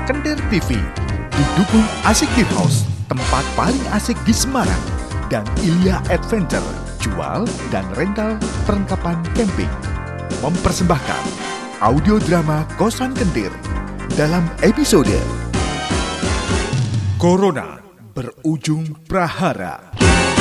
Kendir TV. Didukung Asik Gear House, tempat paling asik di Semarang. Dan Ilya Adventure, jual dan rental perlengkapan camping. Mempersembahkan audio drama Kosan Kendir dalam episode Corona Berujung Prahara.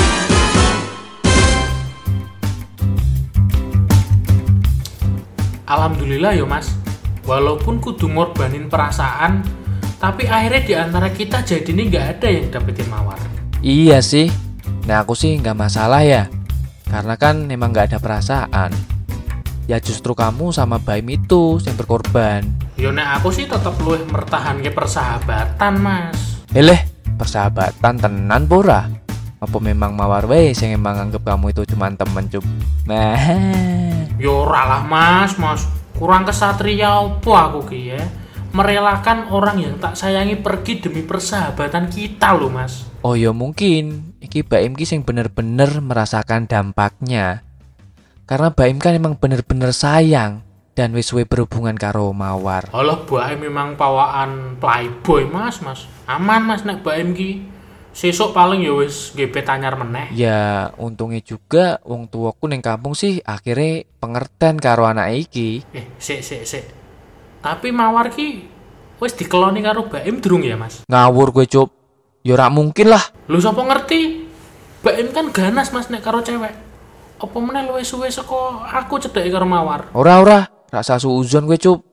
Alhamdulillah ya mas, walaupun kudu ngorbanin perasaan, tapi akhirnya di antara kita jadi ini gak ada yang dapetin mawar. Iya sih, nah aku sih gak masalah ya, karena kan emang gak ada perasaan. Ya justru kamu sama Baim itu yang berkorban. Ya nek aku sih tetep luwih mertahanke persahabatan mas. Persahabatan tenan pora? Apa memang mawar wes yang emang anggap kamu itu cuma temen cup? Nah. Ya ora lah mas, kurang kesatria apa aku ki ya? Merelakan orang yang tak sayangi pergi demi persahabatan kita loh mas. Oh ya mungkin, iki Baim ki sing bener-bener merasakan dampaknya. Karena Baim kan emang bener-bener sayang dan wis suwe berhubungan karo mawar. Alah Baim memang pawaan playboy mas. Aman mas nek Baim ki. Sesuk paling ya wis gebet anyar meneh. Ya untungnya juga wong tuaku ning kampung sih akhirnya pengertian karo anak iki. Sik. Tapi mawar ki wis dikeloni karo Baim durung ya mas? Ngawur gue cup. Ya ora mungkin lah. Lu sapa ngerti? Baim kan ganas mas nek karo cewek. Apa meneh luwih suwe saka aku cedhake karo mawar? Ora, rasa suuzon gue cup.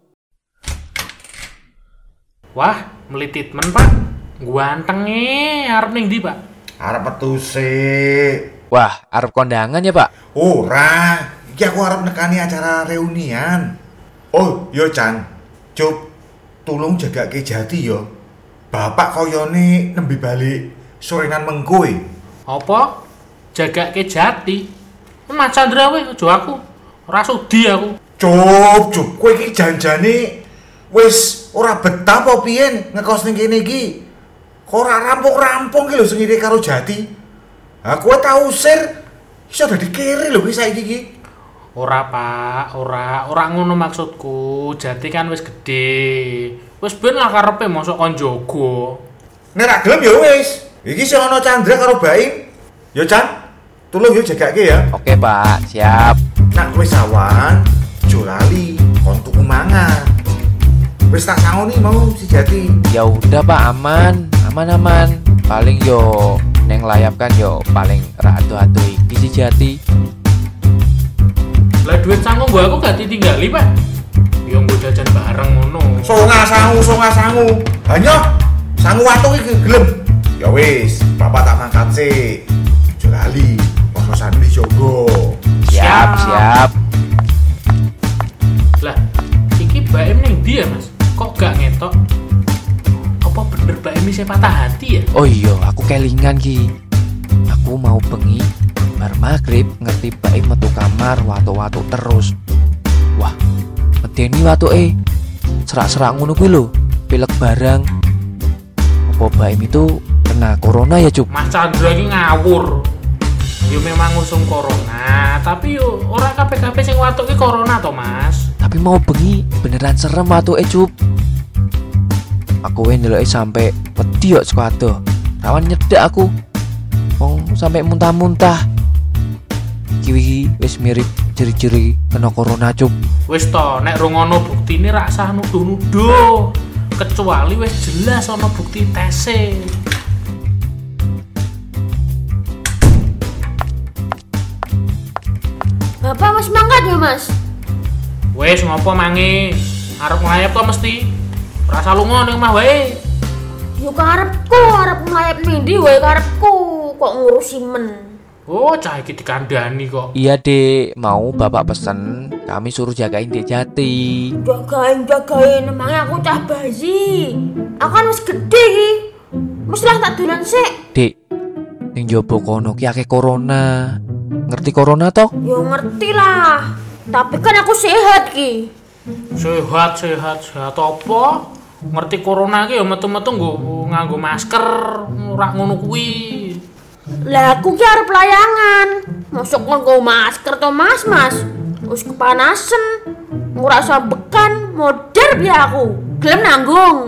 Wah, melitit men pak. Gantenge arep ning ndi, Pak? Arep metu sik. Wah, arep kondangan ya, Pak? Ora, iki aku arep nekani acara reunian. Oh, yo Chan. Cup, tulung jagake Jati yo. Bapak koyone nembe balik sorenan mengko e. Apa? Jagake Jati? Mas Chandra we aja aku. Ora sudi aku. Cup, kowe iki janjane wis ora betah apa piye ngekos ning kene iki? Kok ora rampung-rampung ki lho sing ngene karo Jati. Ha kowe tau usir iso dadi kere lho iki saiki iki. Ora, Pak, ora ngono maksudku. Jati kan wis gedhe. Wis ben lah karepe mosok kon jaga. Nek ra gelem ya wis. Iki sing ana Chandra karo Baim. Yo Chan, tulung yo jagake ya. Oke, Pak, siap. Nak wis awan, aja lali kon tuku mangan. Wis tak sangoni mau si Jati. Ya udah, Pak, aman. Paling yo neng layap kan yo paling ratu-ratu iki si Jati. Lah duit sangu gua aku gak ditinggali, Pak. Yo nggo jajan bareng ngono. Songa sangu. Hanya sangu watu iki gelem. Ya wis, bapak tak mangkat sik. Aja lali, kosan dijogo. Siap. Lah, iki Baim ning ndi ya, Mas? Kok gak ngetok? Apa bener Baim isih patah hati ya? Oh iya, aku kelingan ki. Aku mau bengi bar maghrib ngerti Baim metu kamar watu-watu terus. Wah, medeni watuke. Serak-serak ngono kuwi lho, pilek barang. Apa Baim itu kena corona ya, Cuk? Mas Chandra iki ngawur. Yo memang ngusung corona, tapi yo ora kabeh-kabeh sing watuk iki corona to, Mas. Tapi mau bengi beneran serem watuke, Cuk. Aku ndeloke sampe wedi kok sekuado. Rawan nyedak aku. Wong sampe muntah-muntah. Iki wis mirip ciri-ciri kena corona, Cuk. Wis to, nek rungono buktine rak sah nuduh-nuduh. Kecuali wis jelas ana bukti tese. Bapak mas mangkat ya mas? Wis ngopo mangi? Arep nglayap to mesti. Rasa lunga ning omah wae. Yo karepku arep nglayap ndi wae karepku. Kok ngurusi men. Oh, cah iki dikandani kok. Iya, Dek. Mau Bapak pesen, kami suruh jagain Dek Jati. Jagain emangnya aku cah bayi. Aku kan wis gede iki. Wis lah tak dolan sik. Dek, ning jobo kono ki akeh corona. Ngerti corona toh? Yo ngerti lah. Tapi kan aku sehat ki. Sehat apa? Ngerti corona ki ya metu-metu nganggo masker, ora ngono kuwi. Lah aku ki arep layangan. Mosok nganggo masker to Mas? Wis kepanasan. Ngrasa bekan, modar biar aku. Gelem nanggung.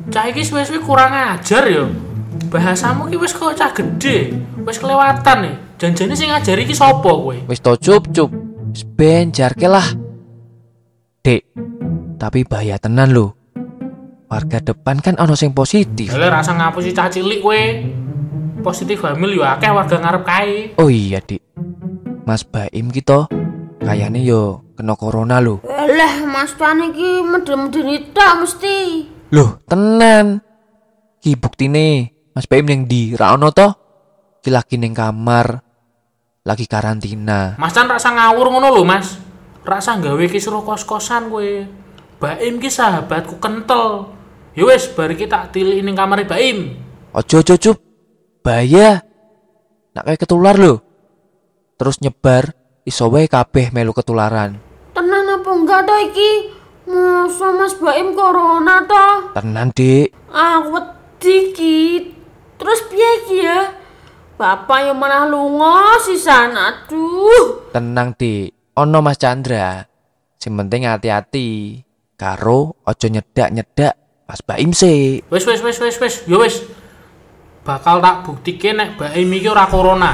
Cah iki suwe-suwe kurang ajar ya. Bahasamu ki wis kok cah gede, wis kelewatan nih. Janjane sing ngajari ki sapa kowe? Wis to cup. Wis ben jarke lah. Dek, tapi bahaya tenan lho. Warga depan kan ono sing positif. Lha rasa ngapusi cah cilik kowe. Positif hamil yo akeh warga ngarep kae. Oh iya, Dik. Mas Baim kita kayane yo kena corona lho. Lah Mas Tuan iki medeni tok mesti. Loh, tenan. Ki buktine Mas Baim yang di ra ono to? Ki lagi ning kamar. Lagi karantina. Mas Chan rasa ngawur ngono lho, Mas. Rasa gawe kisruh kos-kosan kowe. Baim ki sahabatku kental. Ya wis, bar iki tak tilik ning kamare Baim. Ojo cup. Bahaya. Nak kayak ketular lho. Terus nyebar iso wae kabeh melu ketularan. Tenan apa enggak to iki? Masa Mas Baim corona to? Tenan, Dik. Aku wedi ki. Terus piye ki ya? Bapak yang malah lunga sisan. Aduh. Tenang, Dik. Ono Mas Chandra. Sing penting hati-hati. Karo ojo nyedak-nyedak Mas Baim sih. Wis. Ya wis. Bakal tak buktike nek Baim iki ora corona.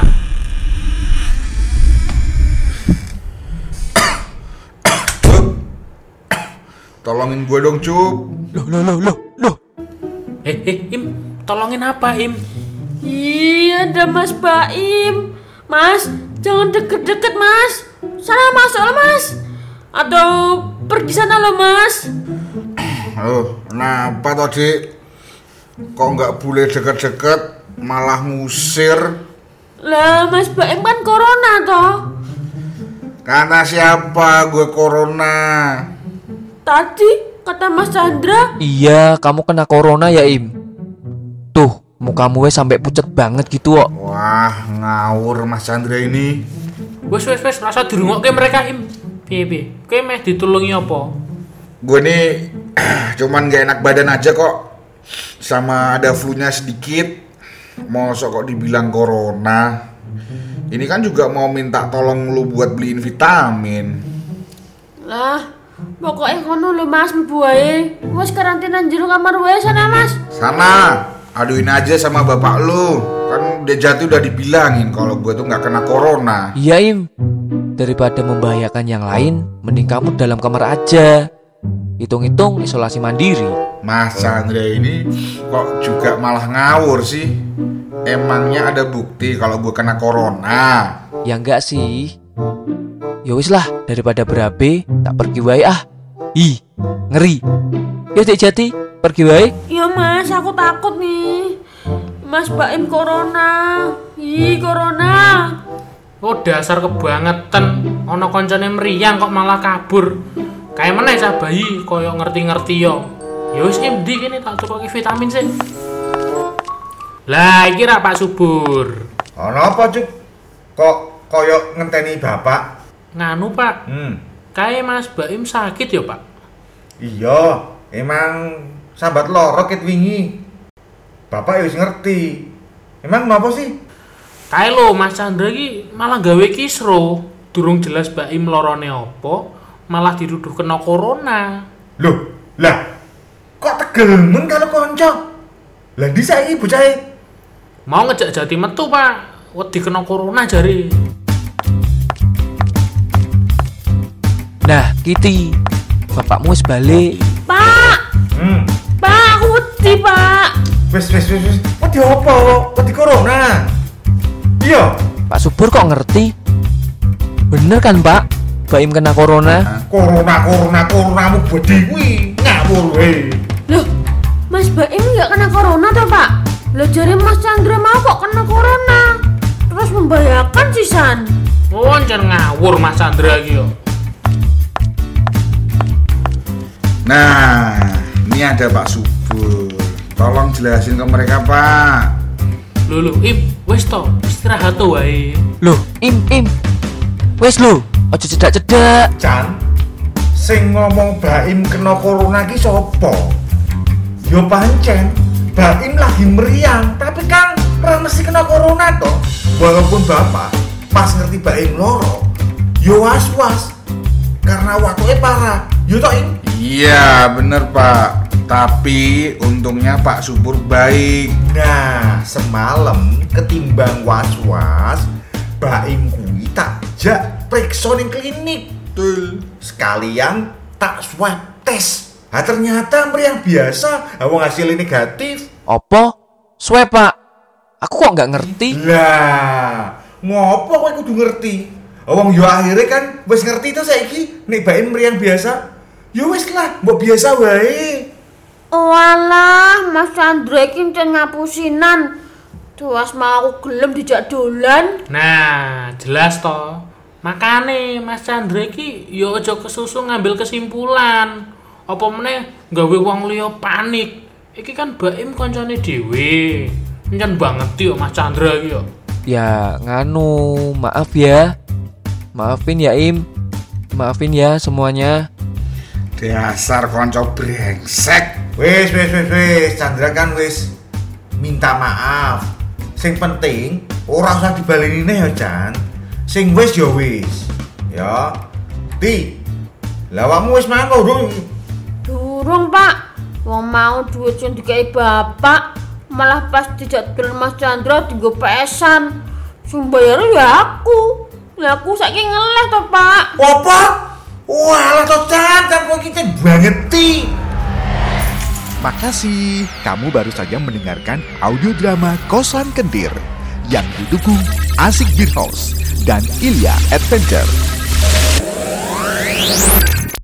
Tolongin gue dong, Cup. Loh. Im, tolongin apa, Im? Iya, ada Mas Baim. Mas, jangan deket-deket, Mas. Sana masuk lo, Mas. Atau pergi sana lo, Mas. Kenapa tadi? Kok nggak boleh deket-deket, malah ngusir? Lah, Mas Baim kan corona toh. Karena siapa gue corona? Tadi kata Mas Chandra. Iya, kamu kena corona ya, Im. Tuh, mukamu wes sampai pucet banget gitu kok. Wah, ngawur Mas Chandra ini. Wes, rasa dirungokke mereka, Im. Piye? Kowe meh ditulungi apa? Gue nih cuman gak enak badan aja kok. Sama ada flu-nya sedikit. Mosok kok dibilang corona. Ini kan juga mau minta tolong lu buat beliin vitamin. Lah, pokoknya kono lo, Mas, mlebu wae. Wes karantina jero kamar wae sana, Mas. Sana, aduin aja sama bapak lu. Kan udah jatuh udah dibilangin kalau gue tuh nggak kena corona. Iya, Im. Daripada membahayakan yang lain, mending kamu dalam kamar aja. Hitung-hitung isolasi mandiri. Mas Chandra ini kok juga malah ngawur sih. Emangnya ada bukti kalau gue kena corona? Ya enggak sih. Ya wis lah, daripada berabe, tak pergi wae ah. Ih, ngeri. Ya Dek Jati, pergi wae. Iya, Mas, aku takut nih. Mas Baim corona. Corona. Oh, dasar kebangetan. Ono koncone mriyang kok malah kabur. Kayak meneh cah bayi koyo ngerti-ngerti yo. Ya wis Im, ndi kene tak tukoki vitamin sih. Lah, iki ra Pak Subur. Ono apa, Cuk? Kok koyo ngenteni bapak? Nganu, Pak. Kayak Mas Baim sakit ya, Pak? Iya, emang sambat loro ket wingi. Bapak ya wis ngerti. Emang apa sih? Kayak lo Mas Chandra iki malah gawe kisro. Durung jelas Baim lorone apa, malah dituduh kena corona. Loh, lah kok tegemen kalau konco? Lah ndi saiki bocahe? Mau ngejak Jati metu, Pak. Wedi kena corona jare. Nah, Kiti, bapakmu wis balik. Pak. Pak, aku wedi, Pak. Wes. Wedi apa? Wedi corona. Iya. Pak Subur kok ngerti? Bener kan, Pak? Baim kena corona. Coronamu bedi kuwi. Ngawur we. Loh, Mas Baim nggak kena corona toh, Pak? Loh, jare Mas Chandra mau kok kena corona. Terus membahayakan sisan. Oh, jangan ngawur Mas Chandra iki yo. Nah, ini ada Pak Subur. Tolong jelasin ke mereka, Pak. Lho, Im, wis to, istirahat to wae. Loh, Im. Wes lo, ojo cedak-cedak. Chan, sing ngomong Baim kena corona ki sapa? Yo pancen Baim lagi meriang, tapi kan ora mesti kena corona toh. Walaupun Bapak pas ngerti Baim loro, yo was-was karena waktunya parah. Yo toh Im? Iya, bener Pak. Tapi untungnya Pak Subur baik. Nah, semalam ketimbang was-was, Baim kuwi tak jak periksa ning klinik. Betul. Sekalian tak swab tes. Ternyata meriang biasa, wong hasilnya negatif. Apa? Swab, Pak. Aku kok nggak ngerti. Lah, ngopo kowe kudu ngerti? Wong yo akhirnya kan wis ngerti to saiki nek Baim meriang biasa. Ya wis lah, mbok biasa wae. Walah, Mas Chandra iki ncen ngapusinan. Tuas mau aku gelem dijak dolan. Nah, jelas toh. Makane Mas Chandra iki ya aja kesusu ngambil kesimpulan. Apa meneh gawe wong liya panik. Iki kan Baim kancane dhewe. Nyen banget yo Mas Chandra iki yo. Ya, nganu, maaf ya. Maafin ya, Im. Maafin ya semuanya. Dasar konco brengsek. Wis, Chandra kan wis minta maaf. Sing penting ora usah dibaleni neh ya, Chan. Sing wis ya wis. Ya. Ti. Lah awakmu wis mangan durung? Durung, Pak. Wong mau duit sing dikai bapak, malah pas dijak dolan Mas Chandra dienggo pesan. Sing bayar ya aku. Lah aku saiki ngeleh to, Pak. Apa? Walah to Chan kowe iki banget ti. Makasih, kamu baru saja mendengarkan audio drama Kosan Kendir yang didukung Asik Beer House dan Ilya Adventure.